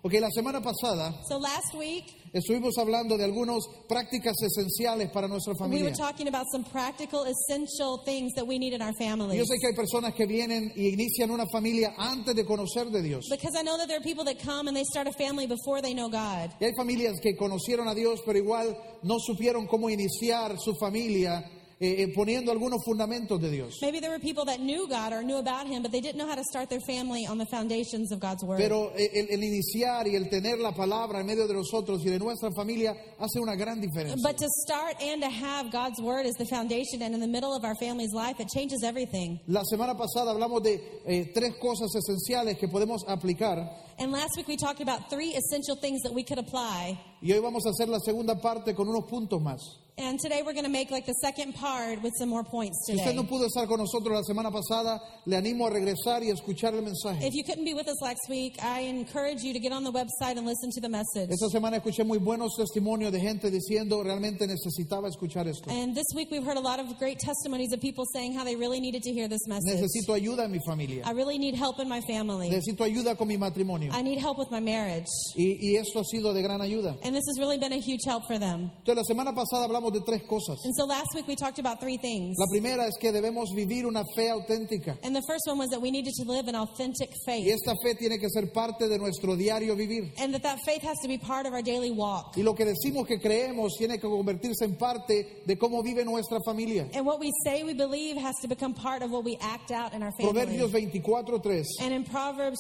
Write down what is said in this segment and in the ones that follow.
Ok, la semana pasada So last week, estuvimos hablando de algunas prácticas esenciales para nuestra we familia. were talking about some practical, essential things that we need in our Yo families. sé que hay personas que vienen y inician una familia antes de conocer de Dios. Because I know that there are people that come and they start a family before they know God. Y hay familias que conocieron a Dios, pero igual no supieron cómo iniciar su familia poniendo algunos fundamentos de Dios. Maybe there were people that knew God or knew about Him, but they didn't know how to start their family on the foundations of God's Word. Pero el iniciar y el tener la palabra en medio de nosotros y de nuestra familia hace una gran diferencia. But to start and to have God's Word as the foundation and in the middle of our family's life, it changes everything. La semana pasada hablamos de 3 cosas esenciales que podemos aplicar. And last week we talked about 3 essential things that we could apply. Y hoy vamos a hacer la segunda parte con unos puntos más. And today we're going to make like the second part with some more points Si usted today. no pudo estar con nosotros la semana pasada, le animo a regresar y a escuchar el mensaje. If you couldn't be with us last week, I encourage you to get on the website and listen to the message. Esta semana escuché muy buenos testimonios de gente diciendo realmente necesitaba escuchar esto. And this week we've heard a lot of great testimonies of people saying how they really needed to hear this message. Necesito ayuda en mi familia. I really need help in my family. Necesito ayuda con mi matrimonio. I need help with my marriage. Y esto ha sido de gran ayuda. And this has really been a huge help for them. Entonces la semana pasada hablamos de 3 cosas. And so last week we talked about 3 things. La primera es que debemos vivir una fe auténtica. And the first one was that we needed to live an authentic Y faith. esta fe tiene que ser parte de nuestro diario vivir. And that faith has to be part of our daily walk. Y lo que decimos que creemos tiene que convertirse en parte de cómo vive nuestra familia. And what we say we believe has to become part of what we act out in our Proverbios family. 24:3. And in Proverbs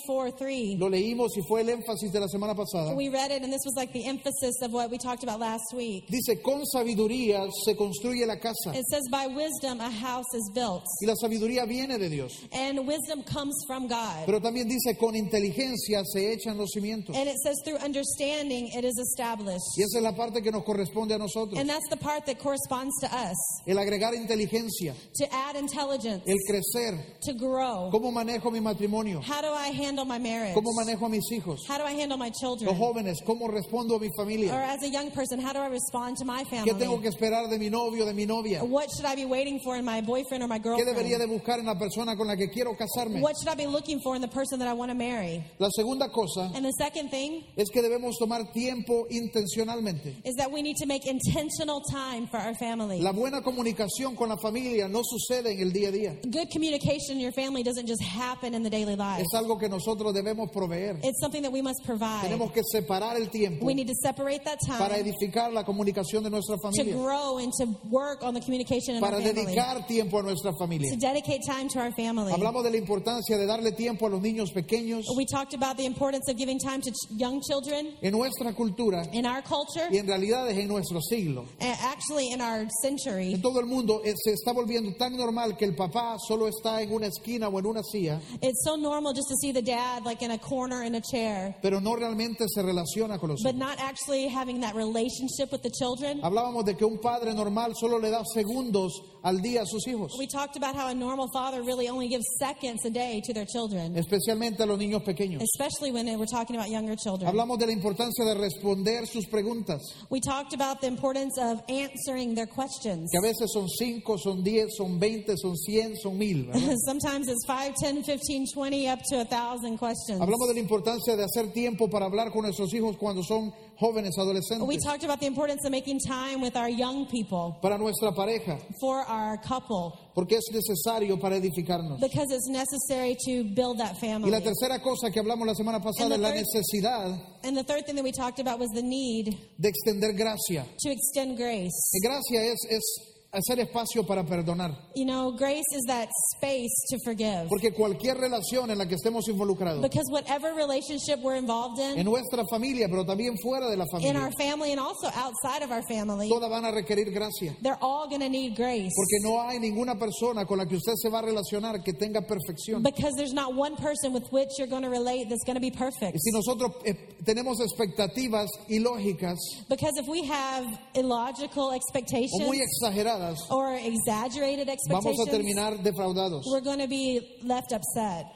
24:3, Lo leímos y fue el énfasis de la semana pasada. we read it, and this was like the emphasis of what we talked about last week. Dice, con sabiduría se construye la casa. It says, by wisdom a house is built. Y la sabiduría viene de Dios. And wisdom comes from God. Pero también dice, con inteligencia se echan los cimientos. And it says, through understanding it is established. Y esa es la parte que nos corresponde a nosotros. And that's the part that corresponds to us. El agregar inteligencia, To add intelligence, el crecer. to grow. ¿Cómo manejo mi matrimonio? How do I handle my marriage? ¿Cómo manejo a mis hijos? How do I handle my Los children? jóvenes, ¿cómo respondo a mi Or familia? as a young person, how do I respond to my ¿Qué tengo family? que esperar de mi novio, de mi novia? What should I be waiting for in my boyfriend or my ¿Qué debería girlfriend? de buscar en la persona con la que quiero casarme? What should I be looking for in the person that I want to marry? La segunda cosa And the second thing es que debemos tomar tiempo intencionalmente. is that we need to make intentional time for our family. La buena comunicación con la familia no sucede en el día a día. Good communication in your family doesn't just happen in the daily life. Es algo que nosotros debemos proveer. It's something that we must provide. Tenemos que separar el tiempo We need to separate that para time edificar la comunicación de nuestra to familia, grow and to work on the communication in our para family. dedicar tiempo a nuestra familia. To dedicate time to our family. Hablamos de la importancia de darle tiempo a los niños pequeños. We talked about the importance of giving time to young children En nuestra cultura in our culture, y en realidad es en nuestro siglo. and actually in our century. En todo el mundo se está volviendo tan normal que el papá solo está en una esquina o en una silla, It's so normal just to see the dad like in a corner in a chair, pero no realmente se relaciona con los but hijos. not actually having that relationship with the children. Hablábamos de que un padre normal solo le da segundos al día a sus hijos, We talked about how a normal father really only gives seconds a day to their children, especialmente a los niños pequeños. especially when we're talking about younger children. Hablamos de la importancia de responder sus preguntas, We talked about the importance of answering their questions. que a veces son 5, son 10, son 20, son 100, son 1000, ¿verdad? Sometimes it's 5, 10, 15, 20, up to 1,000 questions. Hablamos de la importancia de hacer tiempo para hablar con nuestros hijos cuando son jóvenes, We adolescentes, talked about the importance of making time with our young people, para nuestra pareja, for our couple, porque es necesario para edificarnos. because it's necessary to build that Y family. la tercera cosa que hablamos la semana pasada es la necesidad And the third thing that we talked about was the need de extender gracia. to extend grace. Y gracia es hacer espacio para perdonar. You know, grace is that space to forgive. Porque cualquier relación en la que estemos involucrados, Because whatever relationship we're involved en in nuestra familia, pero también fuera de la our familia, family and also outside of our family, todas van a requerir gracia. they're all going to need grace. Porque no hay ninguna persona con la que usted se va a relacionar que tenga perfección. Because there's not one person with which you're going to relate that's going to be perfect. Y si nosotros tenemos expectativas ilógicas Because if we have illogical o muy expectations exageradas, or exaggerated vamos a expectations, terminar defraudados. we're going to be left upset.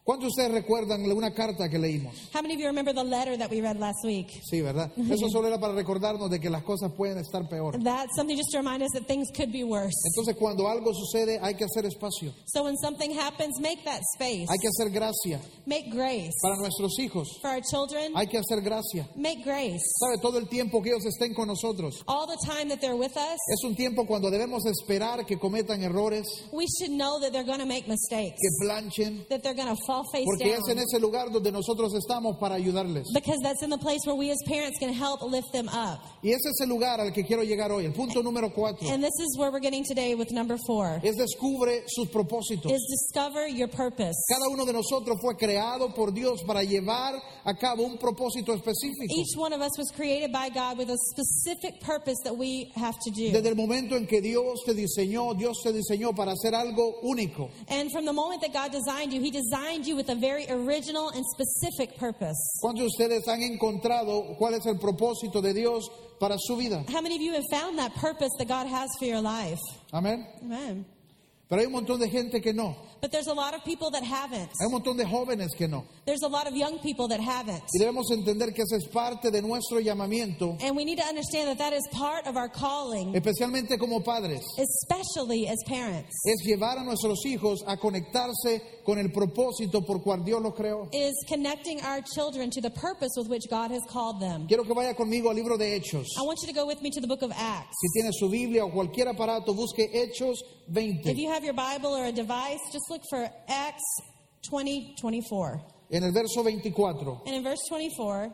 ¿Cuántos de ustedes recuerdan una carta que leímos? How many of you remember the letter that we read last week? Sí, ¿verdad? Eso solo era para recordarnos de que las cosas pueden estar peor. That's something just to remind us that things could be worse. Entonces, cuando algo sucede, hay que hacer espacio. So when something happens, make that space. Hay que hacer gracia. Make grace. Para nuestros hijos, For our children, hay que hacer gracia. make grace. ¿Sabe? Todo el tiempo que ellos estén con nosotros. All the time that they're with us, Es un tiempo cuando debemos esperar que cometan errores, we should know that they're going to make mistakes. que planchen, That they're going to fall face porque down. es en ese lugar donde nosotros estamos para ayudarles. Because that's in the place where we as parents can help lift them up. Y ese es el lugar al que quiero llegar hoy. El punto número 4 And this is where we're getting today with number 4. es descubre sus propósitos. Is discover your purpose. Cada uno de nosotros fue creado por Dios para llevar a cabo un propósito específico. Each one of us was created by God with a specific purpose that we have to do. Desde el momento en que Dios te diseñó para hacer algo único. And from the moment that God designed you, He designed you with a very original and specific purpose. ¿Cuántos de ustedes han encontrado cuál es el propósito de Dios para su vida? How many of you have found that purpose that God has for your life? Amén. Amen. Pero hay un montón de gente que no. But there's a lot of people that haven't. Hay un montón de jóvenes que no. There's a lot of young people that haven't. Y debemos entender que esa es parte de nuestro llamamiento, And we need to understand that that is part of our calling, especialmente como padres. especially as parents, Es llevar a nuestros hijos a conectarse con el propósito por cual Dios los creó. is connecting our children to the purpose with which God has called them. Quiero que vaya conmigo al libro de Hechos. I want you to go with me to the book of Acts. Si tiene su Biblia o cualquier aparato, busque Hechos If 20. you have your Bible or a device, just look for Acts 20:24. En el verso 24 And in verse 24,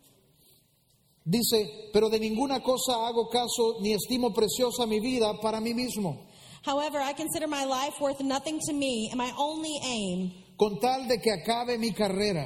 dice, pero de ninguna cosa hago caso ni estimo preciosa mi vida para mí mismo, however, I consider my life worth nothing to me, and my only aim con tal de que acabe mi carrera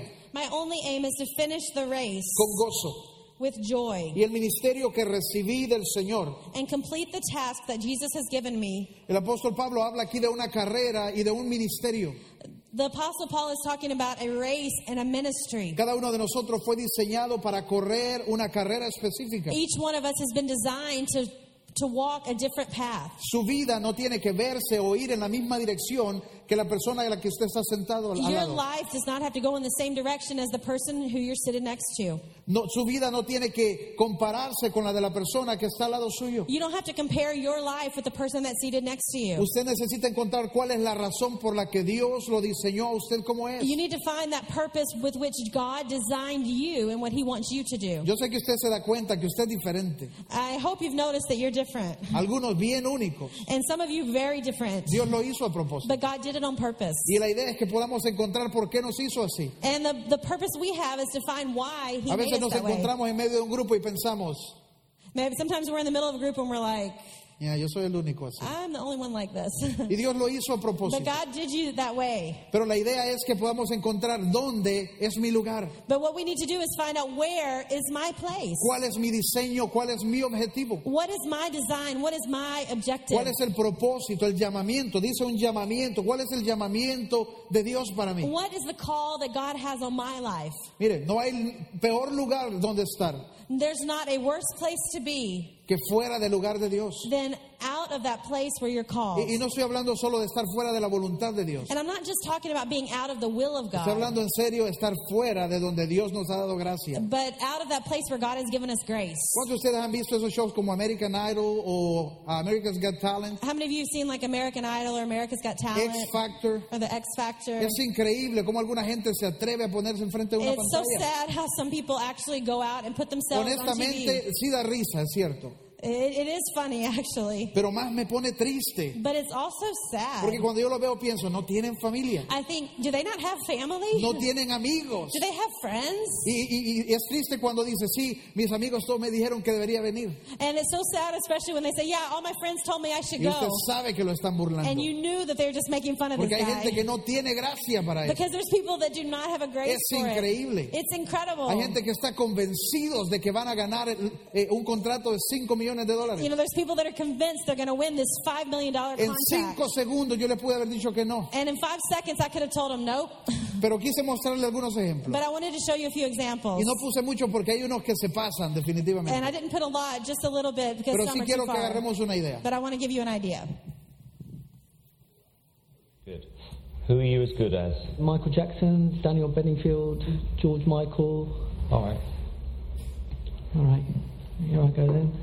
is to finish the race con gozo with joy y el ministerio que recibí del Señor. and complete the task that Jesus has given me. El apóstol Pablo habla aquí de una carrera y de un ministerio. The Apostle Paul is talking about a race and a ministry. Cada uno de nosotros fue diseñado para correr una carrera específica. Each one of us has been designed to walk a different path. Su vida no tiene que verse o ir en la misma dirección que la persona a la que usted está sentado al Your lado. life does not have to go in the same direction as the person who you're sitting next to. No, su vida no tiene que compararse con la de la persona que está al lado suyo. You don't have to compare your life with the person that's seated next to you. Usted necesita encontrar cuál es la razón por la que Dios lo diseñó a usted como es. You need to find that purpose with which God designed you and what He wants you to do. Yo sé que usted se da cuenta que usted es diferente. I hope you've noticed that you're different. Algunos bien únicos. And some of you very different. Dios lo hizo a propósito. But God did it on purpose. Y la idea es que podamos encontrar por qué nos hizo así. And the purpose we have is to find why He A made veces us nos that way. encontramos en medio de un grupo y pensamos, Maybe sometimes we're in the middle of a group and we're like, "Ya, yo soy el único así." I'm the only one like this. Y Dios lo hizo a But propósito. God did you that way. Pero la idea es que podamos encontrar dónde es mi lugar, But what we need to do is find out where is my place. cuál es mi diseño, cuál es mi objetivo, What is my design? What is my objective? cuál es el propósito, el llamamiento. Dice un llamamiento. ¿Cuál es el llamamiento de Dios para mí? What is the call that God has on my life? Mire, no hay peor lugar donde estar There's not a worse place to be que fuera del lugar de Dios. than out of that place where you're called. Y no estoy hablando solo de estar fuera de la voluntad de Dios. And I'm not just talking about being out of the will of Estoy God, hablando en serio de estar fuera de donde Dios nos ha dado gracia. but out of that place where God has given us grace. ¿Cuántos de ustedes han visto esos shows como American Idol o America's Got Talent, How many of you have seen like American Idol or America's Got Talent X Factor? or the X Factor? Es increíble cómo alguna gente se atreve a ponerse enfrente de una It's so pantalla. sad how some people actually go out and put themselves on Honestamente, TV. sí da risa, es cierto. It is funny actually, Pero más me pone triste. but it's also sad. Porque cuando yo lo veo pienso, no tienen familia. I think, do they not have family? No tienen amigos. Do they have friends? Y es triste cuando dice, sí, mis amigos todos me dijeron que debería venir. And it's so sad, especially when they say, yeah, all my friends told me I should Y usted go. sabe que lo están burlando. And you knew that they were just making fun of this Porque hay guy. gente que no tiene gracia para eso. Because there's people that do not have a grace Es for increíble. it. It's incredible. Hay gente que está convencidos de que van a ganar un contrato de $5 millones. You know, there's people that are convinced they're going to win this $5 million En contract. 5 segundos yo le pude haber dicho que no. And in 5 seconds, I could have told them nope. Pero quise mostrarle algunos ejemplos. But I wanted to show you a few examples. Y no puse mucho porque hay unos que se pasan And I definitivamente. didn't put a lot, just a little bit, because Pero some sí are quiero too que far. agarremos una idea. But I want to give you an idea. Good. Who are you as good as? Michael Jackson, Daniel Bedingfield, George Michael. All right. All right, here I go then.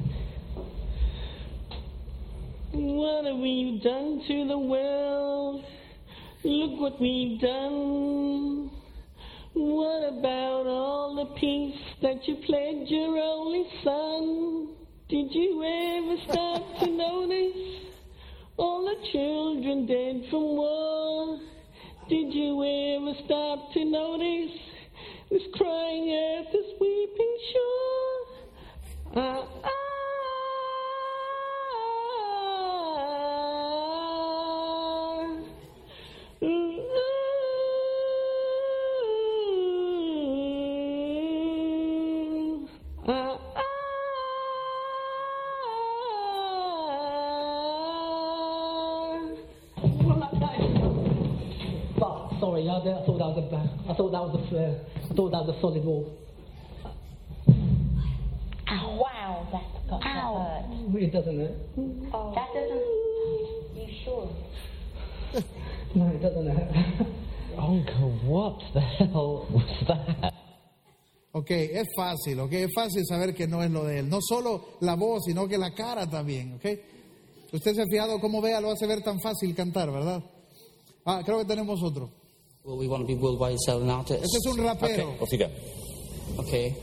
What have we done to the world? Look what we've done. What about all the peace that you pledged your only son? Did you ever stop to notice all the children dead from war? Did you ever stop to notice this crying earth, this weeping shore? Sorry, I thought that was a solid wall. Wow, that's got to hurt. It doesn't hurt. Oh. That doesn't. You sure? No, it doesn't hurt. Uncle, what the hell was that? Ok, es fácil, saber que no es lo de él. No solo la voz, sino que la cara también, ok. Usted se ha fijado cómo Bea lo hace ver tan fácil cantar, ¿verdad? Ah, creo que tenemos otro. Well, we want to be worldwide selling artists. Este es un rapero. Off you go. Okay.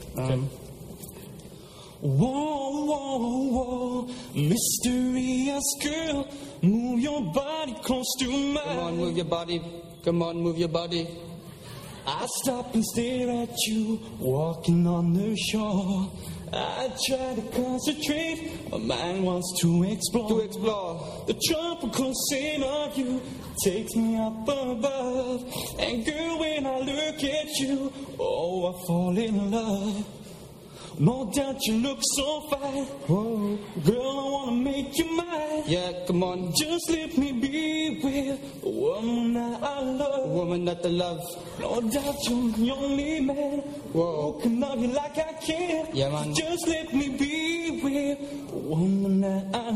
Whoa, whoa, whoa, mysterious girl, move your body close to mine. Come on, move your body. Come on, move your body. I stop and stare at you, walking on the shore. I try to concentrate, my mind wants to explore. To explore. The tropical scent of you takes me up above. And girl, when I look at you, oh, I fall in love. No doubt you look so fine. Whoa. Girl, I wanna make you mine. Yeah, come on. Just let me be with the woman that I love. The woman that I love. No doubt you're the only man. Whoa. Who can love you like I can. Yeah, man. Just let me be with the woman that I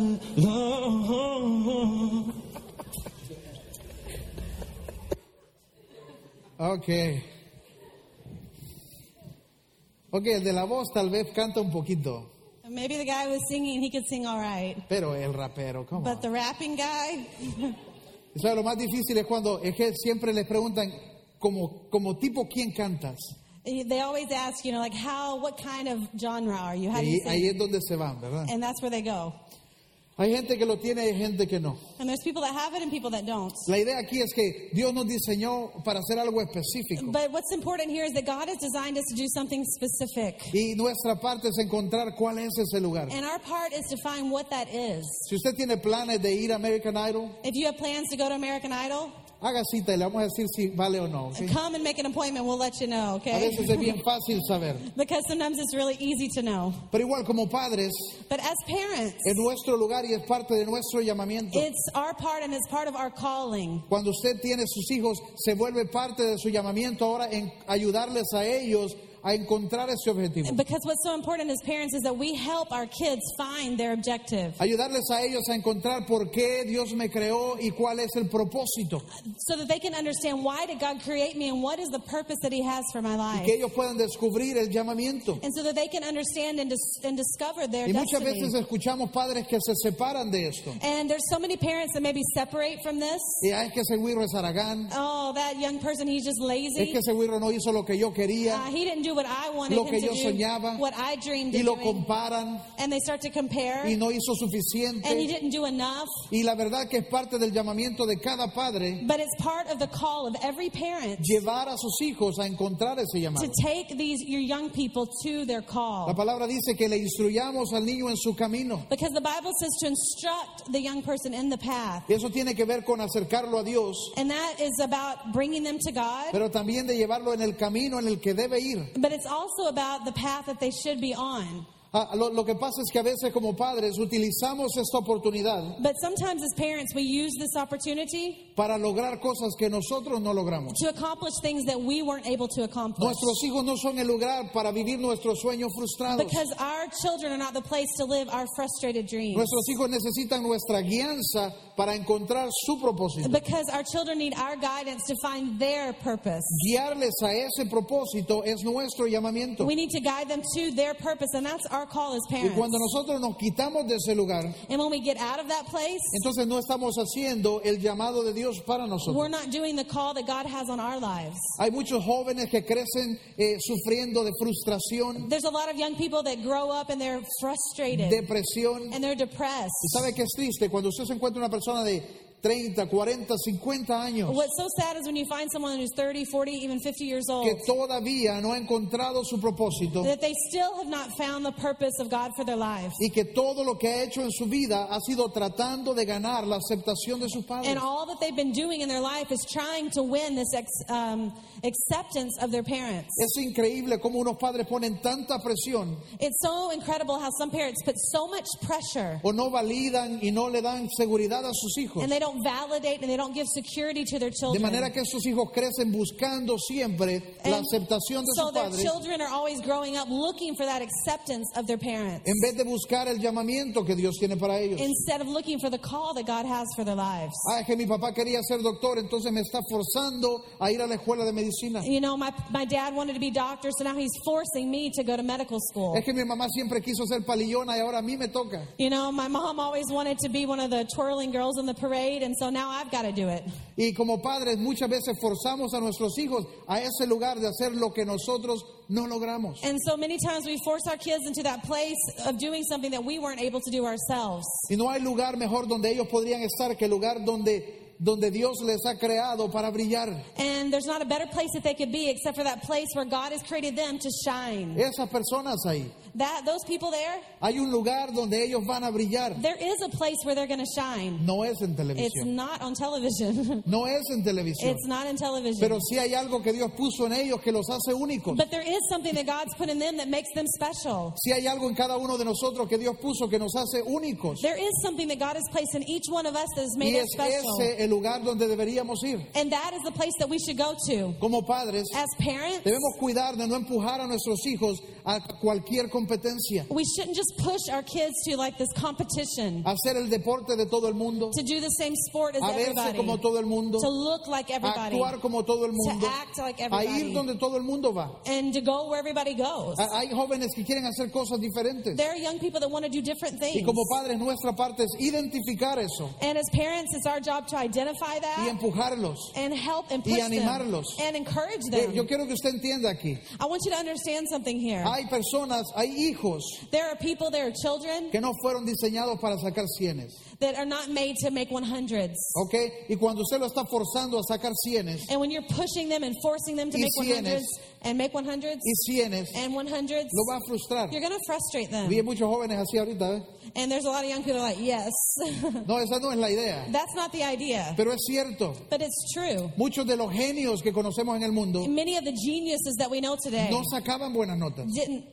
love. Ok. Ok, el de la voz tal vez canta un poquito, Maybe the guy who was singing, he could sing all right. pero el rapero, ¿cómo? But the rapping guy, Y sabe, lo más difícil es cuando es que siempre les preguntan como tipo quién cantas. they always ask, like, what kind of genre are you? How do you Y ahí sing? es donde se van, ¿verdad? And that's where they go. Hay gente que lo tiene y hay gente que no. And there's people that have it and people that don't. La idea aquí es que Dios nos diseñó para hacer algo específico. But what's important here is that God has designed us to do something specific. Y nuestra parte es encontrar cuál es ese lugar. And our part is to find what that is. Si usted tiene planes de ir a American Idol, If you have plans to go to American Idol, haga cita y le vamos a decir si vale o no. ¿ok? come and make an appointment. We'll let you know, A okay? veces es bien fácil saber. Because sometimes it's really easy to know. Pero igual como padres, But as parents, es nuestro lugar y es parte de nuestro llamamiento. it's our part and it's part of our calling. Cuando usted tiene sus hijos, se vuelve parte de su llamamiento ahora en ayudarles a ellos a encontrar ese objetivo. Because what's so important as parents is that we help our kids find their objective Ayudarles a ellos a encontrar por qué Dios me creó y cuál es el propósito. so that they can understand why did God create me and what is the purpose that He has for my Y life. que ellos puedan descubrir el llamamiento. And so that they can understand and discover their Y muchas destiny. veces escuchamos padres que se separan de esto. And there's so many parents that maybe separate from this. Y es que ese güiro es Aragán. Oh, that young person, he's just Es lazy. que ese güiro no hizo lo que yo quería. He didn't do what I wanted Lo him que to yo do, soñaba. what I dreamed Y of lo doing. comparan. And they start to compare. Y no hizo And he suficiente. didn't do enough. Y la verdad que es parte del llamamiento de cada padre But it's part of the call of every parent llevar a sus hijos a encontrar ese to llamado. take your young people to their La call. palabra dice que le instruyamos al niño en su camino. Because the Bible says to instruct the young person in the path. Y eso tiene que ver con acercarlo a Dios, And that is about bringing them to God. pero también de llevarlo en el camino en el que debe ir. But it's also about the path that they should be on. Lo que pasa es que a veces como padres utilizamos esta oportunidad But sometimes as parents, we use this opportunity para lograr cosas que nosotros no logramos. to accomplish things that we weren't able to accomplish. Nuestros hijos no son el lugar para vivir nuestros sueños frustrados. Because our children are not the place to live our frustrated dreams. Nuestros hijos necesitan nuestra guianza para encontrar su propósito. Because our children need our guidance to find their purpose. Guiarles a ese propósito es nuestro llamamiento. We need to guide them to their purpose, and that's our call as Y parents. cuando nosotros nos quitamos de ese lugar, And when we get out of that place, entonces no estamos haciendo el llamado de Dios para we're nosotros. not doing the call that God has on our lives. Hay muchos jóvenes que crecen sufriendo de frustración, There's a lot of young people that grow up and they're frustrated depresión. and they're depressed. ¿Y sabe qué es triste? Cuando usted se encuentra una persona de 30, 40, 50 años What's so sad is when you find someone who's 30, 40, even 50 years old, que todavía no ha encontrado su propósito that they still have not found the purpose of God for their lives. y que todo lo que ha hecho en su vida ha sido tratando de ganar la aceptación de sus padres. And all that they've been doing in their life is trying to win this acceptance of their parents. Es increíble cómo unos padres ponen tanta presión It's so incredible how some parents put so much pressure o no validan y no le dan seguridad a sus hijos. and they don't validate and they don't give security to their De children. manera que esos hijos crecen buscando siempre la And aceptación de so sus their padres children are always growing up looking for that acceptance of their parents en vez de buscar el llamamiento que Dios tiene para ellos. instead of looking for the call that God has for their lives. Es que mi papá quería ser doctor, entonces me está forzando a ir a la escuela de medicina. You know, my dad wanted to be doctor, so now he's forcing me to go to medical school. Es que mi mamá siempre quiso ser palillona y ahora a mí me toca. You know, my mom always wanted to be one of the twirling girls in the parade, and so now I've got to do it. Y como padres muchas veces forzamos a nuestros hijos a ese lugar de hacer lo que nosotros no logramos. And so many times we force our kids into that place of doing something that we weren't able to do ourselves. Y no hay lugar mejor donde ellos podrían estar que el lugar donde Dios les ha creado para brillar. And there's not a better place that they could be except for that place where God has created them to shine. Esas personas ahí. Those people there, Hay un lugar donde ellos van a brillar. there is a place where they're going to shine. No es en It's televisión. not on television. No es en televisión. It's not in television. Pero sí hay algo que Dios puso en ellos que los hace únicos. But there is something that God's put in them that makes them special. Sí hay algo en cada uno de nosotros que Dios puso que nos hace únicos. There is something that God has placed in each one of us that has made Y us es special. ese el lugar donde deberíamos ir. And that is the place that we should go to. Como padres, As parents, debemos cuidar de no empujar a nuestros hijos a cualquier competencia, we shouldn't just push our kids to like this competition, a hacer el deporte de todo el mundo, to do the same sport as a verse everybody, como todo el mundo, to look like a everybody, actuar como todo el mundo, to act like a everybody, ir donde todo el mundo va. and to go where everybody goes. Hay jóvenes que quieren hacer cosas diferentes. There are young people that want to do different Y things. como padres, nuestra parte es identificar eso And as parents, it's our job to identify y that empujarlos. and help and y push them animarlos. and encourage them. Yo quiero que usted entienda aquí. I want you to understand something here. Hay personas, hay hijos There are people, there are children que no fueron diseñados para sacar cienes. that are not made to make 100s. ¿Ok? Y cuando usted lo está forzando a sacar cienes And when you're pushing them and forcing them to Y make 100s cienes. and make 100s y cienes, and 100s, lo va a frustrar. you're going to frustrate them. Vi muchos jóvenes así ahorita, ¿eh? And there's a lot of young people like, yes, No, esa no es la idea. that's not the idea. Pero es cierto. But it's true. Muchos de los genios que conocemos en el mundo Many of the geniuses that we know today no sacaban buenas notas.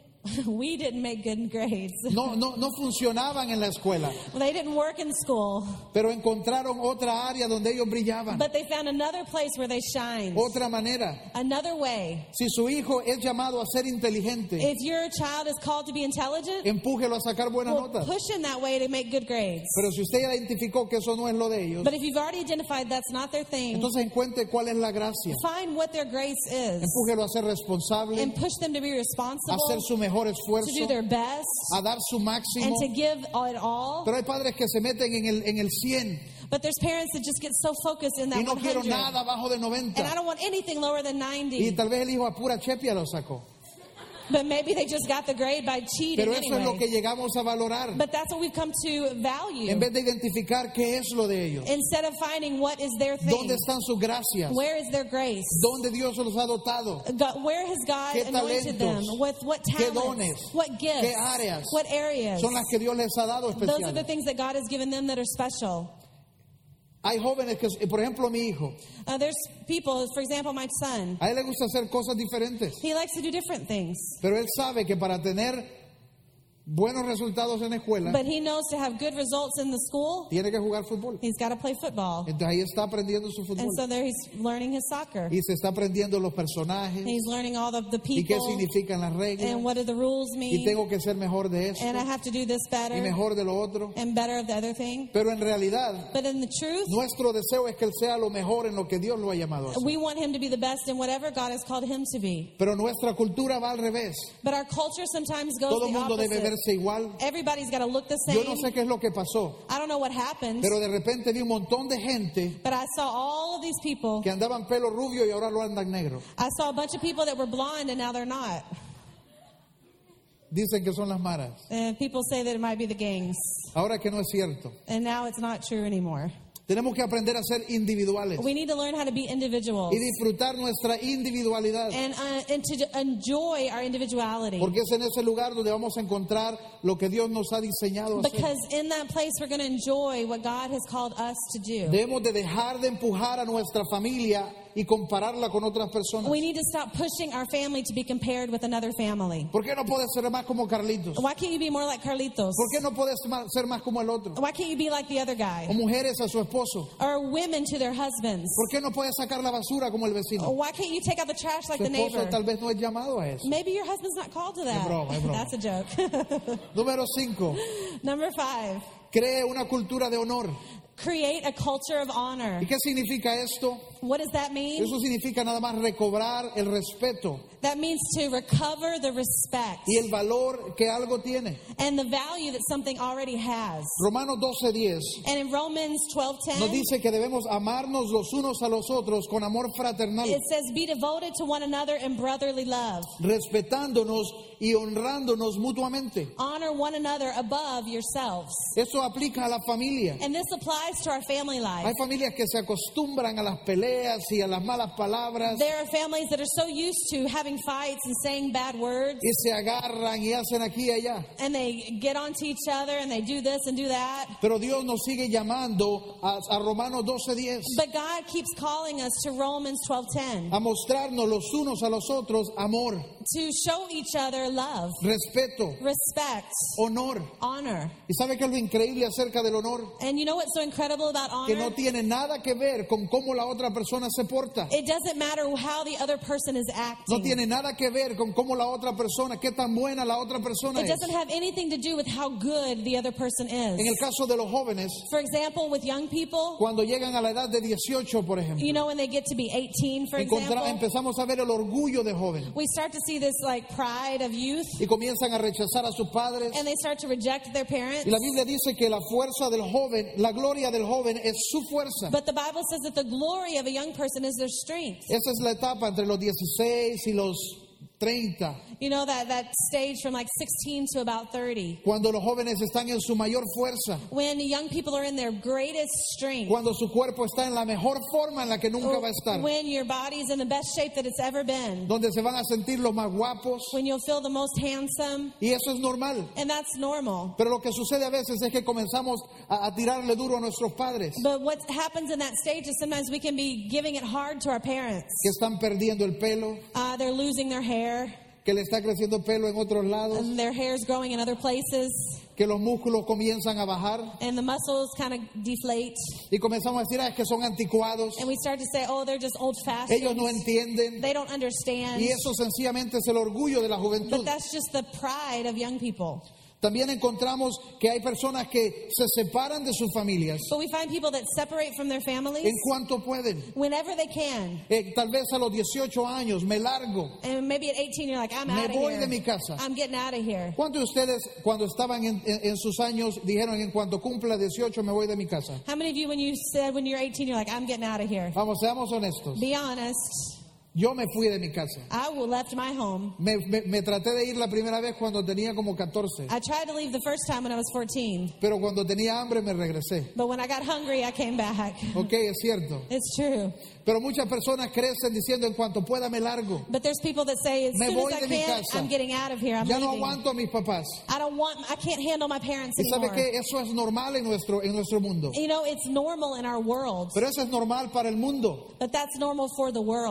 we didn't make good grades. No funcionaban en la escuela. They didn't work in school. Pero encontraron otra área donde ellos brillaban. But they found another place where they shine. Otra manera. Another way. Si su hijo es llamado a ser inteligente, If your child is called to be intelligent, empújelo a sacar buenas well, notas. push him that way to make good grades. Pero si usted ya identificó que eso no es lo de ellos, But if you've already identified that's not their thing, entonces encuentre cuál es la gracia. find what their grace is Empújelo a ser responsable, and push them to be a responsible, hacer su mejor to do esfuerzo, their best, a dar su and máximo. to give it all. Pero hay padres que se meten en el 100 But there's parents that just get so focused in that y no quiero 100. nada abajo de And I 90. don't want anything lower than Y 90. tal vez el hijo a pura chepia lo sacó. But maybe they just got the grade by cheating Pero eso es lo que anyway. llegamos a valorar. But that's what we've come to value. En vez de identificar qué es lo de ellos. Instead of finding what is their thing. ¿Dónde están sus gracias? Where is their grace? ¿Dónde Dios los ha dotado? Where has God ¿Qué anointed them? talentos? With what ¿Qué talents? dones? What gifts? ¿Qué áreas? What areas? Son las que Dios les ha dado Those are the especiales. things that God has given them that are special. Hay jóvenes que, por ejemplo, mi hijo, There's people, for example, my son. a él le gusta hacer cosas diferentes. He likes to do different things. Pero él sabe que para tener buenos resultados en la escuela, but he knows to have good results in the school, tiene que jugar fútbol. he's got to play football. Entonces ahí está aprendiendo su And fútbol. so there he's learning his soccer. Y se está aprendiendo los personajes And he's learning all of the y qué people significan las reglas. and what do the rules Y mean. tengo que ser mejor de esto And I have to do this y better mejor de lo otro. and better of the other thing. Pero en realidad, But in the truth, nuestro deseo es que él sea lo mejor en lo que Dios lo ha llamado a ser. we want him to be the best in whatever God has called him to be. Pero nuestra cultura va al revés. But our culture sometimes goes Todo el the mundo debe opposite. verse igual. Everybody's got to look the Yo same. no sé qué es lo que pasó, I don't know what happened, pero de repente vi un montón de gente but I saw all of these people. que andaban pelo rubio y ahora lo andan negro. I saw a bunch of people that were blonde and now they're not. Dicen que son las maras. And people say that it might be the gangs. Ahora que no es cierto. And now it's not true anymore. Tenemos que aprender a ser individuales We need to learn how to be individuals y disfrutar nuestra individualidad. and to enjoy our individuality. Porque es en ese lugar donde vamos a encontrar lo que Dios nos ha diseñado a hacer. Because in that place we're going to enjoy what God has called us to do. Debemos de dejar de empujar a nuestra familia y compararla con otras personas. We need to stop pushing our family to be compared with another family. ¿Por qué no puedes ser más como Carlitos? Why can't you be more like Carlitos? ¿Por qué no puedes ser más como el otro? Why can't you be like the other O guy? mujeres a su esposo. Or women to their husbands? ¿Por qué no puedes sacar la basura como el vecino? Why can't you take out the trash like Su the esposo neighbor? tal vez no es llamado a eso. Maybe your husband's not called to that. broma, es broma. That's a joke. Número 5. Number 5, Cree una cultura de honor. create a culture of honor. ¿Y qué significa esto? What does that mean? Eso significa nada más recobrar el respeto That means to recover the respect y el valor que algo tiene. and the value that something already has. Romanos 12:10 And in Romans nos 12:10, dice que debemos amarnos los unos a los otros con amor fraternal, it says, be devoted to one another in brotherly love. respetándonos y honrándonos mutuamente. Honor one another above yourselves. Eso aplica a la familia. And this applies to our family life. Hay familias que se acostumbran a las peleas y a las malas palabras There are families that are so used to having fights and saying bad words, y se agarran y hacen aquí y allá. and they get onto each other and they do this and do that. Pero Dios nos sigue llamando a Romanos 12:10 But God keeps calling us to Romans 12:10 a mostrarnos los unos a los otros amor, to show each other love, respeto, respect, honor. honor. ¿Y sabe qué es lo increíble acerca del honor? And you know what's so incredible about Que honor? no tiene nada que ver con cómo la otra persona se porta. It doesn't matter how the other person is No acting. tiene nada que ver con cómo la otra persona, qué tan buena la otra persona It es. doesn't have anything to do with how good the other person En el is. caso de los jóvenes, For example, with young people, cuando llegan a la edad de 18, por ejemplo, you know, when they get to be 18, for example, empezamos a ver el orgullo de joven we start to see this like pride of youth, y comienzan a rechazar a sus padres. and they start to reject their parents. Y la Biblia dice que la fuerza del joven, la gloria del joven es su fuerza. But the Bible says that the glory of a young person is their strength. Esa es la etapa entre los 16 y los 30, You know, that stage from like 16 to about 30. cuando los jóvenes están en su mayor fuerza, When young people are in their greatest strength. cuando su cuerpo está en la mejor forma en la que nunca va a estar, When your body's in the best shape that it's ever been. donde se van a sentir los más guapos, When you'll feel the most handsome. y eso es normal. And that's normal. Pero lo que sucede a veces es que comenzamos a tirarle duro a nuestros padres, But what happens in that stage is sometimes we can be giving it hard to our parents. que están perdiendo el pelo, They're losing their hair. que le está creciendo pelo en otros lados, And their hair's growing in other places. que los músculos comienzan a bajar, And the muscles kind of deflate. y comenzamos a decir, es que son anticuados, And we start to say, oh, they're just old-fashioned. ellos no entienden, They don't understand. y eso sencillamente es el orgullo de la juventud. But that's just the pride of young people. También encontramos que hay personas que se separan de sus familias But we find people that separate from their families en cuanto pueden. whenever they can. Tal vez a los 18 años me largo. And maybe at 18 you're like, I'm Me out of voy here. de mi casa. I'm getting out of here. ¿Cuántos de ustedes cuando estaban en sus años dijeron en cuanto cumpla 18 me voy de mi casa? How many of you, when you said when you're 18, you're like, I'm getting out of here? Vamos, seamos honestos. Be honest. Yo me fui de mi casa. I left my home. Me traté de ir la primera vez cuando tenía como 14. I tried to leave the first time when I was 14. Pero cuando tenía hambre me regresé. But when I got hungry, I came back. Ok, es cierto. It's true. Pero muchas personas crecen diciendo en cuanto pueda me largo. But there's people that say, as Me soon voy as I de mi can, casa. I'm getting out of here. I'm Ya no leaving. aguanto a mis papás. I can't handle my parents Y sabe anymore. que eso es normal en nuestro mundo. You know, it's normal in our world. Pero eso es normal para el mundo. But that's normal for the world. Jóvenes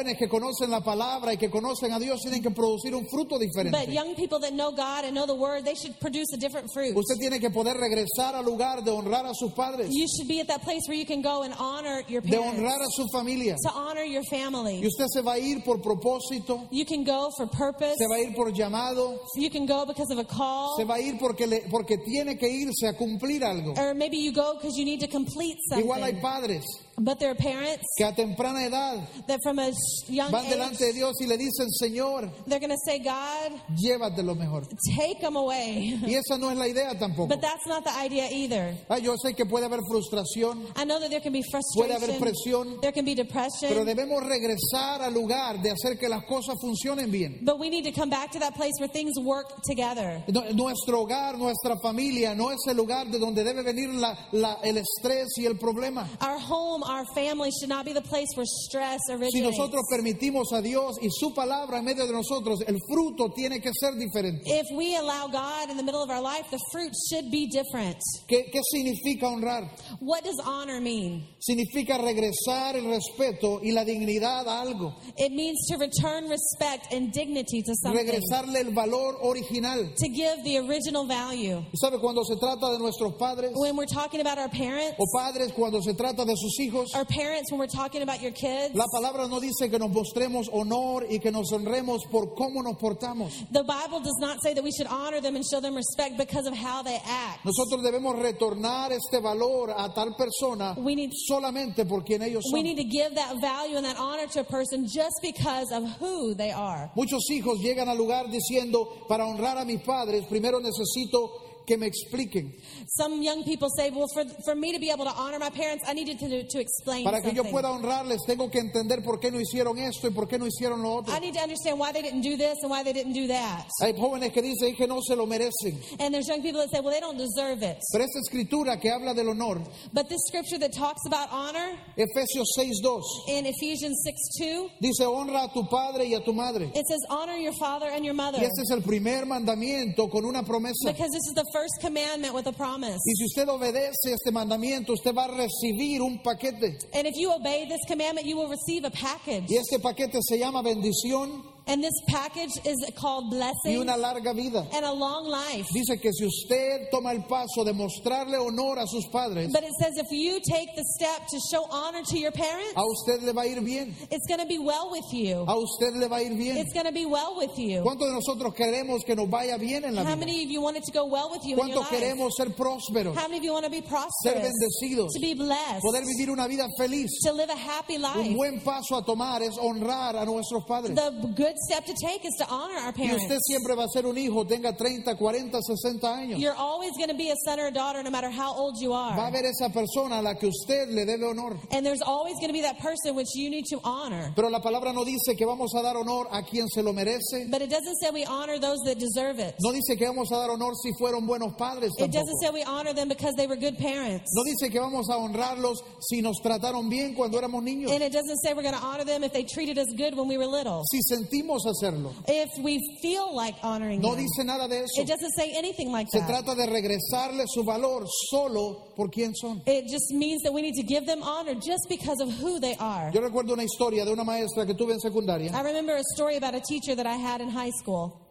jóvenes que conocen la palabra y que conocen a Dios tienen que producir un fruto But diferente. young people that know God and know the Word, they should produce a different fruit. Usted tiene que poder regresar al lugar de honrar a sus padres, You should be at that place where you can go and honor your de parents, honrar a su familia. to honor your family. Y usted se va a ir por propósito, You can go for purpose. se va a ir por llamado, You can go because of a call. se va a ir porque tiene que irse a cumplir algo. Or maybe you go because you need to complete Igual hay something. padres But there are parents que a temprana edad that from a young van delante de age, Dios y le dicen, Señor, they're going to say, God, llévate lo mejor. take them away. Y esa no es la idea tampoco. But that's not the idea either. Yo sé que puede haber frustración, I know that there can be puede haber frustration, presión, there can be depression, pero debemos regresar al lugar de hacer que las cosas funcionen bien. but we need to come back to that place where things work together. Nuestro hogar, nuestra familia no es el lugar de donde debe venir el estrés y el problema. Our home, our family should not be the place where stress Si originates. nosotros permitimos a Dios y su palabra en medio de nosotros, el fruto tiene que ser diferente. If we allow God in the middle of our life, the fruit should be different. ¿Qué significa honrar? What does honor mean? Significa regresar el respeto y la dignidad a algo. It means to return respect and dignity to something. Regresarle el valor original. To give the original value. ¿Y sabe cuando se trata de nuestros padres? When we're talking about our parents, O padres cuando se trata de sus hijos. our parents, when we're talking about your kids, La palabra no dice que nos mostremos honor y que nos honremos por cómo nos portamos. the Bible does not say that we should honor them and show them respect because of how they act. Nosotros debemos retornar este valor a tal persona We need- solamente por quien ellos We son. need to give that value and that honor to a person just because of who they are. Muchos hijos llegan al lugar diciendo, para honrar a mis padres, primero necesito que me expliquen. Some young people say, well, for me to be able to honor my parents, I needed to explain Para que yo something. pueda honrarles, tengo que entender por qué no hicieron esto y por qué no hicieron lo otro. I need to understand why they didn't do this and why they didn't do that. Hay jóvenes que dicen que no se lo merecen. And there's young people that say, well, they don't deserve it. Pero esta escritura que habla del honor, But this scripture that talks about honor Efesios 6:2, in Ephesians 6:2, dice, honra a tu padre y a tu madre. it says, honor your father and your mother. Y este es el primer mandamiento con una promesa. Because this is the first commandment with a promise. Y si usted obedece este mandamiento, usted va a recibir un paquete. And if you obey this commandment, you will receive a package. Y este paquete se llama bendición And this package is called y blessing una larga vida. and a long life. Dice que si usted toma el paso de mostrarle honor a sus padres, But it says if you take the step to show honor to your parents, a usted le va a ir bien. it's going to be well with you. A usted le va a ir bien. It's going to be well with you. ¿Cuántos de nosotros queremos que nos vaya bien en la How vida? many of you want it to go well with you in your ¿Cuántos life? queremos ser prósperos, How many of you want to be ser prosperous, bendecidos, to be blessed, poder vivir una vida feliz? to live a happy Un life? buen paso a tomar es honrar a nuestros padres. The good step to take is to honor our Y usted parents. siempre va a ser un hijo, tenga 30, 40, 60 años. You're always going to be a son or a daughter no matter how old you Va a are. haber esa persona a la que usted le debe honor. And there's always going to be that person which you need to honor. Pero la palabra no dice que vamos a dar honor a quien se lo merece. But it doesn't say we honor those that deserve it. No dice que vamos a dar honor si fueron buenos padres It tampoco. doesn't say we honor them because they were good parents. No dice que vamos a honrarlos si nos trataron bien cuando éramos niños. And it doesn't say we're going to honor them if they treated us good when we were little. Si sentimos hacerlo. If we feel like honoring No them. dice nada de eso. It doesn't say anything like Se that. trata de regresarle su valor solo por quien son. It just means that we need to give them honor just because of who they are. Yo recuerdo una historia de una maestra que tuve en secundaria. I remember a story about a teacher that I had in high school.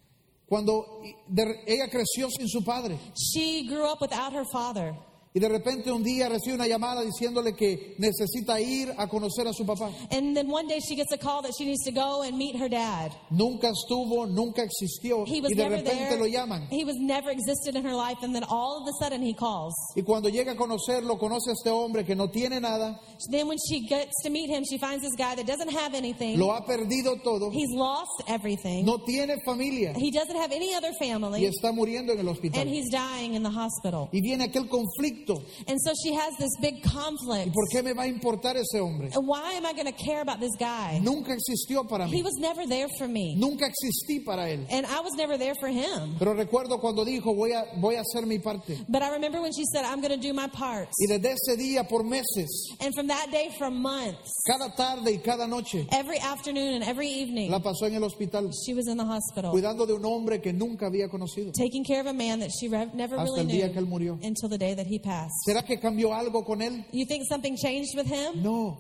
Cuando ella creció sin su padre. She grew up without her father. Y de repente un día recibe una llamada diciéndole que necesita ir a conocer a su papá. And then one day she gets a call that she needs to go and meet her dad. Nunca estuvo, nunca existió. He was Y de never repente there. lo llaman. He was never existed in her life, and then all of a sudden he calls. Y cuando llega a conocerlo, conoce a este hombre que no tiene nada, Then when she gets to meet him, she finds this guy that doesn't have anything. lo ha perdido todo, He's lost everything. no tiene familia He doesn't have any other y family, está muriendo en el hospital. and he's dying in the hospital. Y viene aquel conflicto. And so she has this big ¿Y conflict. por qué me va a importar ese hombre? Why am I going to care about this guy? Nunca existió para He mí. was never there for me, Nunca existí para él. and I was never there for him. Pero recuerdo cuando dijo, voy a hacer mi parte. But I remember when she said, I'm going to do my part. Y desde ese día por meses, And from that day, for months, cada tarde y cada noche, every afternoon and every evening, la pasó en el hospital, she was in the hospital, cuidando de un hombre que nunca había conocido. taking care of a man that she never Hasta really el día knew que él murió. until the day that he passed. ¿Será que cambió algo con él? You think something changed with him? No. No.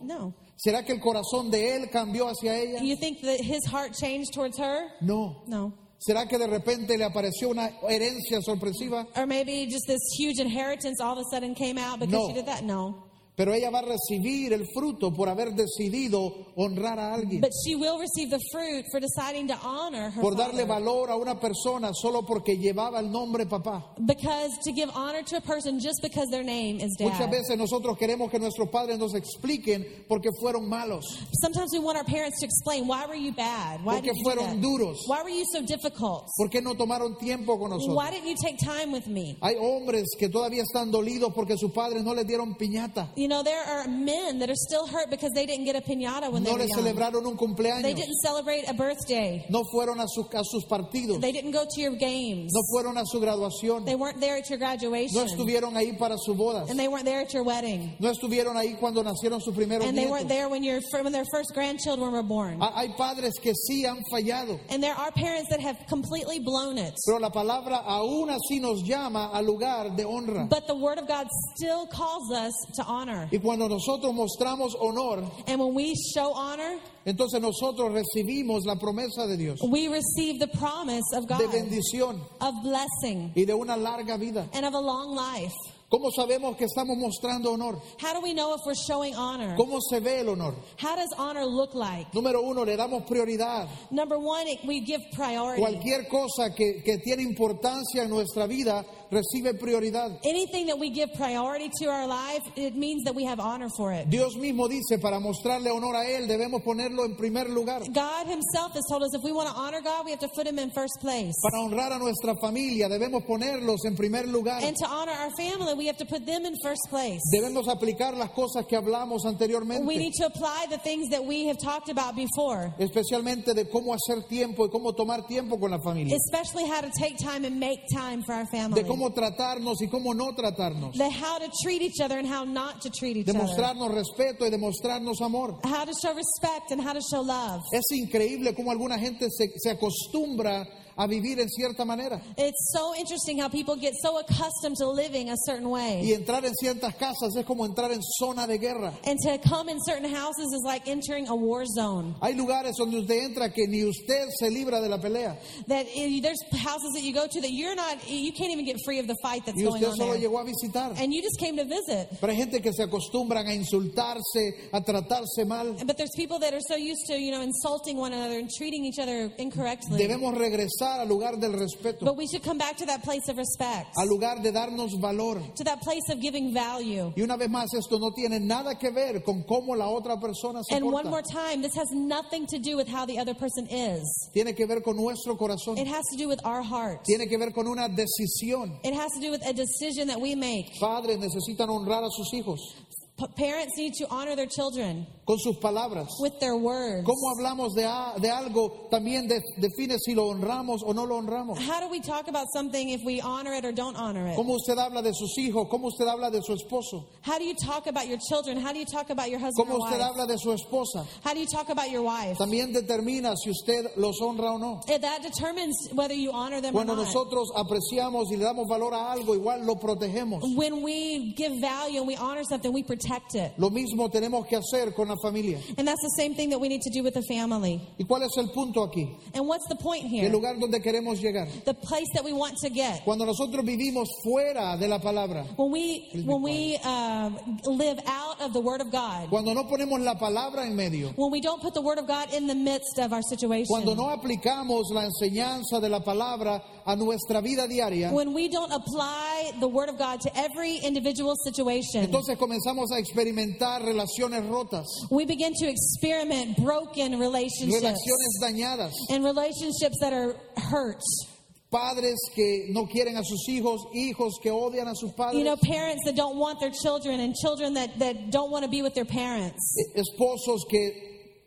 ¿Será que el corazón de él cambió hacia ella? You think that his heart changed towards her? No. No. ¿Será que de repente le apareció una herencia sorpresiva? Or maybe just this huge inheritance all of a sudden came out because No. she did that? No. Pero ella va a recibir el fruto por haber decidido honrar a alguien. But she will receive the fruit for deciding to honor her Por darle father. valor a una persona solo porque llevaba el nombre papá. Because to give honor to a person just because their name is Muchas dad. veces nosotros queremos que nuestros padres nos expliquen por qué fueron malos, Sometimes we want our parents to explain, why were you bad? Why por qué did you do fueron that? duros, Why were you so difficult? por qué no tomaron tiempo con nosotros. Why didn't you take time with me? Hay hombres que todavía están dolidos porque sus padres no les dieron piñata, You know, there are men that are still hurt because they didn't get a piñata when no they were les young. celebraron un They cumpleaños, didn't celebrate a birthday. no fueron a sus partidos, They didn't go to your games. no fueron a su graduación, They weren't there at your no graduation. estuvieron ahí para sus bodas, And they weren't there at your wedding. no estuvieron ahí cuando nacieron sus primeros And they nietos. weren't there when their first grandchildren were born. Hay padres que sí han fallado, And there are parents that have completely blown it. pero la palabra aún así nos llama al lugar de honra. But the Word of God still calls us to honor. Y cuando nosotros mostramos honor, And when we show honor, entonces nosotros recibimos la promesa de Dios, we receive the promise of de God, bendición of blessing, y de una larga vida. and of a long life. ¿Cómo sabemos que estamos mostrando honor? How do we know if we're showing honor? ¿Cómo se ve el honor? How does honor look like? Número uno, le damos prioridad. Number one, we give priority. Cualquier cosa que tiene importancia en nuestra vida recibe prioridad. Anything that we give priority to our life, it means that we have honor for it. Dios mismo dice, para mostrarle honor a Él, debemos ponerlo en primer lugar. God himself has told us if we want to honor God, we have to put him in first place. Para honrar a nuestra familia, debemos ponerlos en primer lugar. And to honor our family, we have to put them in first place. Debemos aplicar las cosas que hablamos We anteriormente, need to apply the things that we have talked about before, especialmente de cómo hacer tiempo y cómo tomar tiempo con la familia, especially how to take time and make time for our family. de cómo tratarnos y cómo no tratarnos, The how to treat each other and how not to treat each de other. mostrarnos respeto y de mostrarnos amor. How to show respect and how to show love. Es increíble cómo alguna gente se acostumbra a vivir en cierta manera It's so interesting how people get so accustomed to living a certain y way. entrar en ciertas casas es como entrar en zona de guerra. And to come in certain houses is like entering a war zone. Hay lugares donde usted entra que ni usted se libra de la pelea That there's houses that you go to that you can't even get free of the fight that's y going usted on solo there. llegó a visitar. And you just came to visit. Pero hay gente que se acostumbran a insultarse, a tratarse mal. But there's people that are so used to, insulting one another and treating each other incorrectly. Debemos regresar al lugar del respeto, But we should come back to that place of respect, al lugar de darnos valor. to that place of giving value. Y una vez más, esto no tiene nada que ver con cómo la otra persona se And one more porta. time, this has nothing to do with how the other person is. Tiene que ver con nuestro corazón. It has to do with our heart. Tiene que ver con una decisión. It has to do with a decision that we make. Padres necesitan honrar a sus hijos Parents need to honor their children con sus palabras. with their words. Cómo hablamos de algo también define si lo honramos o no lo honramos. How do we talk about something if we honor it or don't honor it? Cómo usted habla de sus hijos, cómo usted habla de su esposo, How do you talk about your children? How do you talk about your husband cómo or usted wife? habla de su esposa, How do you talk about your wife? también determina si usted los honra o no. That determines whether you honor them Cuando or not. nosotros apreciamos y le damos valor a algo, igual lo protegemos. When we give value and we honor something, we protect it. Lo mismo tenemos que hacer con la familia. And that's the same thing that we need to do with the family. ¿Y cuál es el punto aquí? And what's the point El here? lugar donde queremos llegar. The place that we want to get. Cuando nosotros vivimos fuera de la palabra, When we live out of the Word of God. cuando no ponemos la palabra en medio, When we don't put the Word of God in the midst of our situation. cuando no aplicamos la enseñanza de la palabra a nuestra vida diaria, When we don't apply the Word of God to every individual situation. entonces comenzamos a experimentar relaciones rotas, We begin to experiment broken relationships. relaciones dañadas, And relationships that are hurt. padres que no quieren a sus hijos, hijos que odian a sus padres, Parents that don't want their children and children that don't want to be with their parents. esposos que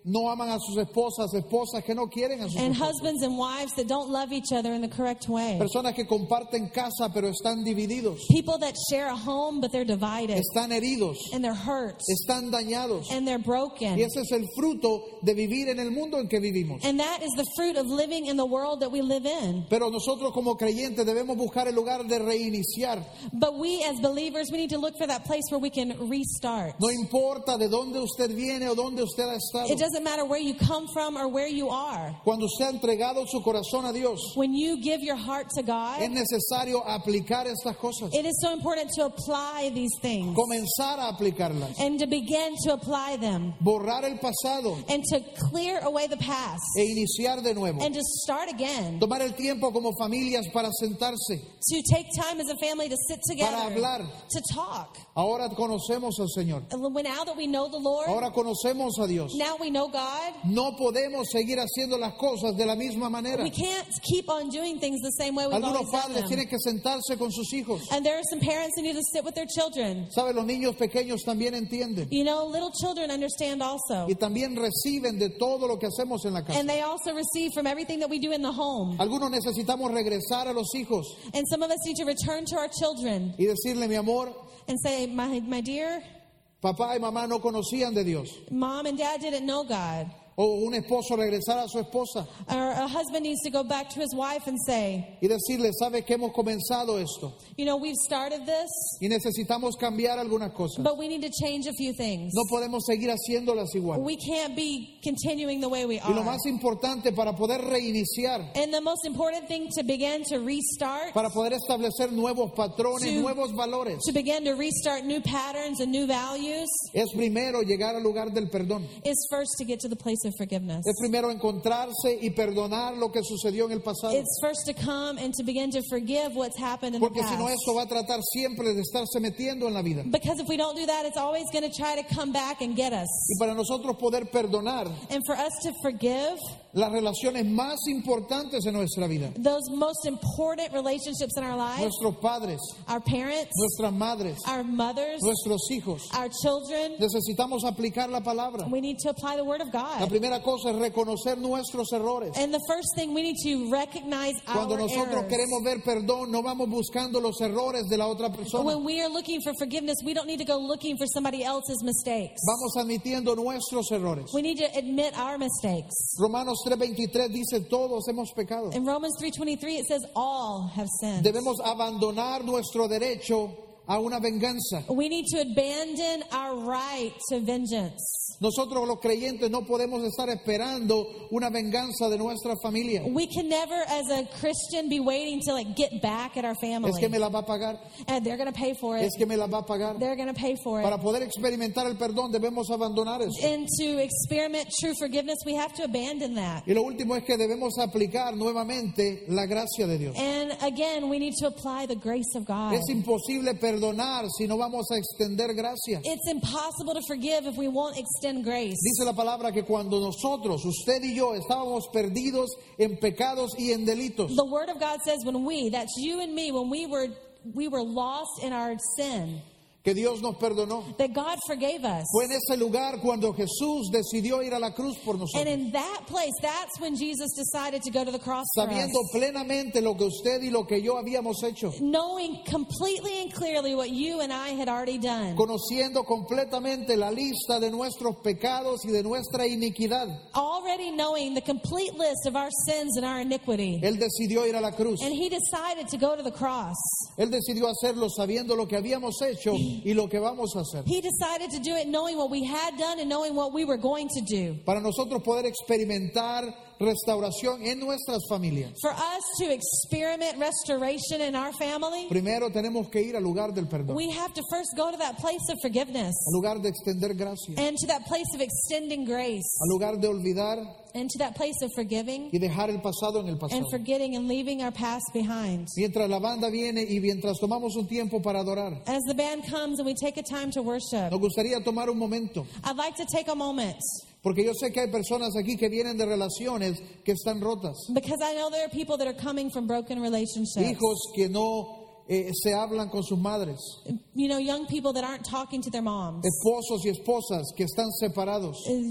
no aman a sus esposas, esposas que no quieren a sus and esposos. husbands and wives that don't love each other in the correct way. Personas que comparten casa pero están divididos, People that share a home, but they're divided, están heridos, and they're hurt, están dañados. and they're broken. Y ese es el fruto de vivir en el mundo en que vivimos. And that is the fruit of living in the world that we live in. Pero nosotros como creyentes debemos buscar el lugar de reiniciar. But we as believers, we need to look for that place where we can restart. No importa de dónde usted viene o dónde usted ha estado. It doesn't matter where you come from or where you are. Cuando usted ha entregado su corazón a Dios, When you give your heart to es God, necesario aplicar estas cosas. it is so important to apply these things Comenzar a aplicarlas. and to begin to apply them Borrar el pasado and to clear away the past e iniciar de nuevo. and to start again. Tomar el tiempo como familias para sentarse. To take time as a family to sit together, hablar. to talk. Ahora conocemos al Señor. And now that we know the Lord, Ahora conocemos a Dios. now we know God, No podemos seguir haciendo las cosas de la misma manera. we can't keep on doing things the same way we've Algunos always done padres them. tienen que sentarse con sus hijos. And there are some parents who need to sit with their children. ¿Sabe? Los niños pequeños también entienden. You know, little children understand also. Y también reciben de todo lo que hacemos en la casa. And they also receive from everything that we do in the home. Algunos necesitamos regresar a los hijos And some of us need to return to our children y decirle, mi amor, and say, my dear, papá y mamá no conocían de Dios. Mom and Dad didn't know God. O un esposo regresar a su esposa Or a husband needs to go back to his wife and say, y decirle, ¿sabe que hemos comenzado esto? you know, we've started this, Y necesitamos cambiar algunas cosas. but we need to change a few things. No podemos seguir haciéndolas igual. We can't be continuing the way we Y lo are. más importante para poder reiniciar, And the most important thing to begin to restart, para poder establecer nuevos patrones, To- nuevos valores, to begin to restart new patterns and new values, es primero llegar al lugar del perdón. is first to get to the place of forgiveness. Es primero encontrarse y perdonar lo que sucedió en el pasado. It's first to come and to begin to forgive what's happened in the Porque si no, past. esto va a tratar siempre de estarse metiendo en la vida. Because if we don't do that, it's always going to try to come back and get us. Y para nosotros poder perdonar And for us to forgive las relaciones más importantes en nuestra vida, those most important relationships in our lives, nuestros padres, our parents, nuestras madres, our mothers, nuestros hijos, our children, necesitamos aplicar la palabra. we need to apply the Word of La God. primera cosa es reconocer nuestros errores. And the first thing, we need to recognize Cuando our nosotros errors. queremos ver perdón, no vamos buscando los errores de la otra persona. When we are looking for forgiveness, we don't need to go looking for somebody else's mistakes. Vamos admitiendo nuestros errores. We need to admit our mistakes. Romanos 3:23 dice, todos hemos pecado. In Romans 3:23, it says, all have sinned. Debemos abandonar nuestro derecho a una venganza. We need to abandon our right to vengeance. Nosotros los creyentes no podemos estar esperando una venganza de nuestra familia. We can never, as a Christian, be waiting to get back at our family. Es que me la va a pagar. And they're going to pay for it. Es que me la va a pagar. They're going to pay for it. Para poder experimentar el perdón debemos abandonar eso. And to experiment true forgiveness, we have to abandon that. Y lo último es que debemos aplicar nuevamente la gracia de Dios. And again, we need to apply the grace of God. Es imposible perdonar si no vamos a extender gracia. It's impossible to forgive if we won't extend grace. Dice la palabra que cuando nosotros, usted y yo, estábamos perdidos en pecados y en delitos, The Word of God says when we, that's you and me, when we were lost in our sin, que Dios nos perdonó. that God forgave us. Fue en ese lugar cuando Jesús decidió ir a la cruz por And nosotros, in that place, that's when Jesus decided to go to the cross for us. sabiendo plenamente lo que usted y lo que yo habíamos hecho, Knowing completely and clearly what you and I had already done. conociendo completamente la lista de nuestros pecados y de nuestra iniquidad. Already knowing the complete list of our sins and our iniquity. Él decidió ir a la cruz. And He decided to go to the cross. Él decidió hacerlo sabiendo lo que habíamos hecho y lo que vamos a hacer. He decided to do it knowing what we had done and knowing what we were going to do. Para nosotros poder experimentar restauración en nuestras familias, For us to experiment restoration in our family, primero tenemos que ir al lugar del perdón, we have to first go to that place of forgiveness al lugar de extender gracia, and to that place of extending grace al lugar de olvidar and to that place of forgiving y dejar el pasado en el pasado. and forgetting and leaving our past behind. Mientras la banda viene y mientras tomamos un tiempo para adorar, As the band comes and we take a time to worship, nos gustaría tomar un momento, I'd like to take a moment porque yo sé que hay personas aquí que vienen de relaciones que están rotas, because I know there are people that are coming from broken relationships. hijos que no se hablan con sus madres, You know, young people that aren't talking to their moms. esposos y esposas que están separados,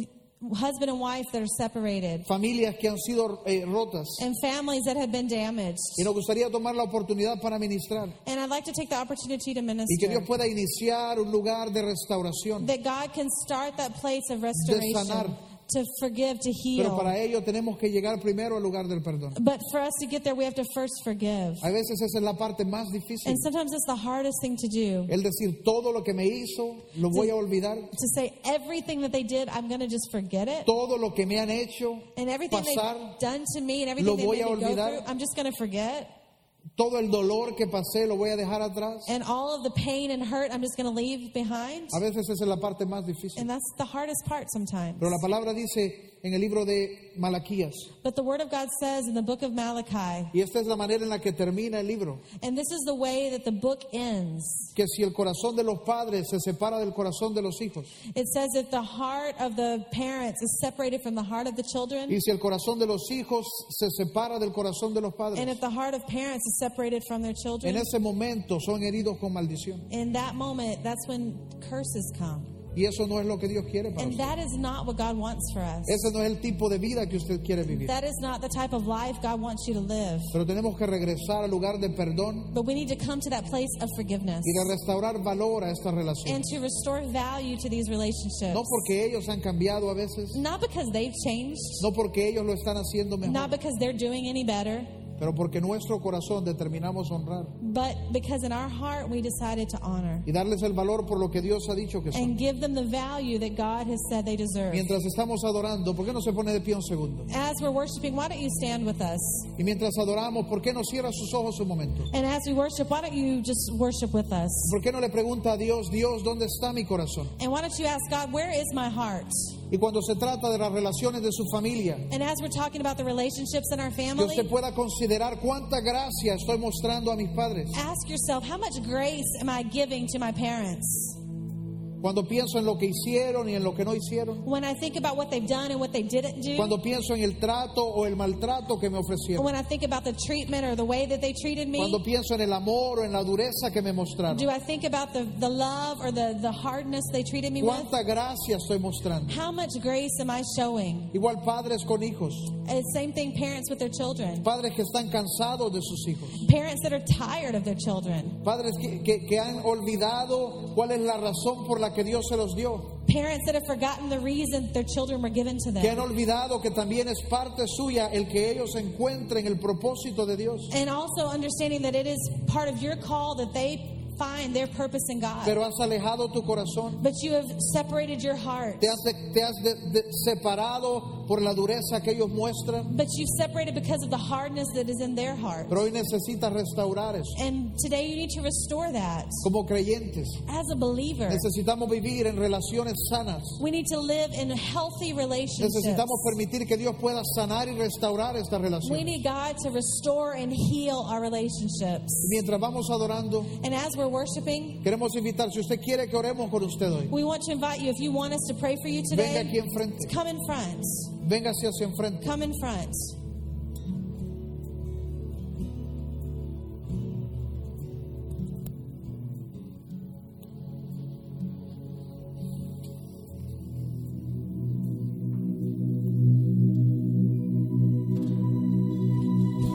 husband and wife that are separated, familias que han sido rotas. and families that have been damaged. Y nos gustaría tomar la oportunidad para ministrar And I'd like to take the opportunity to y que minister. Dios pueda iniciar un lugar de restauración. That God can start that place of sanar. restoration, to forgive, to Pero heal. para ello tenemos que llegar primero al lugar del perdón. But for us to get there, we have to first forgive. A veces esa es la parte más difícil. And sometimes it's the hardest thing to do. El decir todo lo que me hizo lo voy a olvidar. To say everything that they did, I'm going to just forget it. Todo lo que me han hecho And everything pasar, they've done to me and everything lo they voy made a me go olvidar. through, I'm just going to forget. todo el dolor que pasé lo voy a dejar atrás. And all of the pain and hurt, I'm just going to leave behind. A veces esa es la parte más difícil. And that's the hardest part sometimes. Pero la palabra dice en el libro de Malaquías, But the Word of God says in the book of Malachi, y esta es la manera en la que termina el libro, and this is the way that the book ends. que si el corazón de los padres se separa del corazón de los hijos, It says if the heart of the parents is separated from the heart of the children, y si el corazón de los hijos se separa del corazón de los and padres, if the heart of parents is separated from their en children, ese momento son heridos con maldición. in that moment, that's when curses come. Y eso no es lo que Dios quiere para And usted. that is not what God wants for us. Ese no es el tipo de vida que usted quiere vivir. That is not the type of life God wants you to live. Pero tenemos que regresar al lugar de perdón But we need to come to that place of forgiveness y de restaurar valor a esta relación. and to restore value to these relationships. No porque ellos han cambiado a veces, Not because they've changed, no porque ellos lo están haciendo not mejor, because they're doing any better, pero porque nuestro corazón determinamos honrar but because in our heart we decided to honor y darles el valor por lo que Dios ha dicho que son. and give them the value that God has said they deserve. Mientras estamos adorando, ¿por qué no se pone de pie un segundo? As we're worshiping, why don't you stand with us? Y mientras adoramos, ¿por qué no cierra sus ojos un momento? And as we worship, why don't you just worship with us? ¿Por qué no le pregunta a Dios, Dios, ¿dónde está mi corazón? And why don't you ask God, where is my heart? Y cuando se trata de las relaciones de su familia, And as we're talking about the relationships in our que family, usted pueda considerar cuánta gracia estoy mostrando a mis padres. ask yourself, how much grace am I giving to my parents? Cuando pienso en lo que hicieron y en lo que no hicieron. When I think about what they've done and what they didn't do, Cuando pienso en el trato o el maltrato que me ofrecieron. when I think about the treatment or the way that they treated me, Cuando pienso en el amor o en la dureza que me mostraron. do I think about the love or the hardness they treated me with? Cuánta gracia estoy mostrando. How much grace am I showing? Igual padres con hijos. Same thing, parents with their children. Padres que están cansados de sus hijos. Parents that are tired of their children. Padres que han olvidado cuál es la razón por la que Dios se los dio. Parents that have forgotten the reason their children were given to Que han them. olvidado que también es parte suya el que ellos encuentren el propósito de Dios. And also understanding that it is part of your call that they find their purpose in God. Pero has alejado tu corazón. But you have separated your heart. Te has separado por la dureza que ellos muestran. But you've separated because of the hardness that is in their heart. Pero hoy necesitas restaurar eso. And today you need to restore that. Como creyentes, As a believer, necesitamos vivir en relaciones sanas. we need to live in healthy relationships. Necesitamos permitir que Dios pueda sanar y restaurar esta We relación. need God to restore and heal our relationships. Mientras vamos adorando, And as we're worshiping, queremos invitar, si usted quiere que oremos con usted hoy, we want to invite you, if you want us to pray for you venga aquí today, enfrente. come in front. Venga hacia enfrente. Come in front.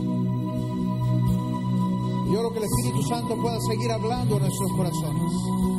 Yo oro que el Espíritu Santo pueda seguir hablando en nuestros corazones.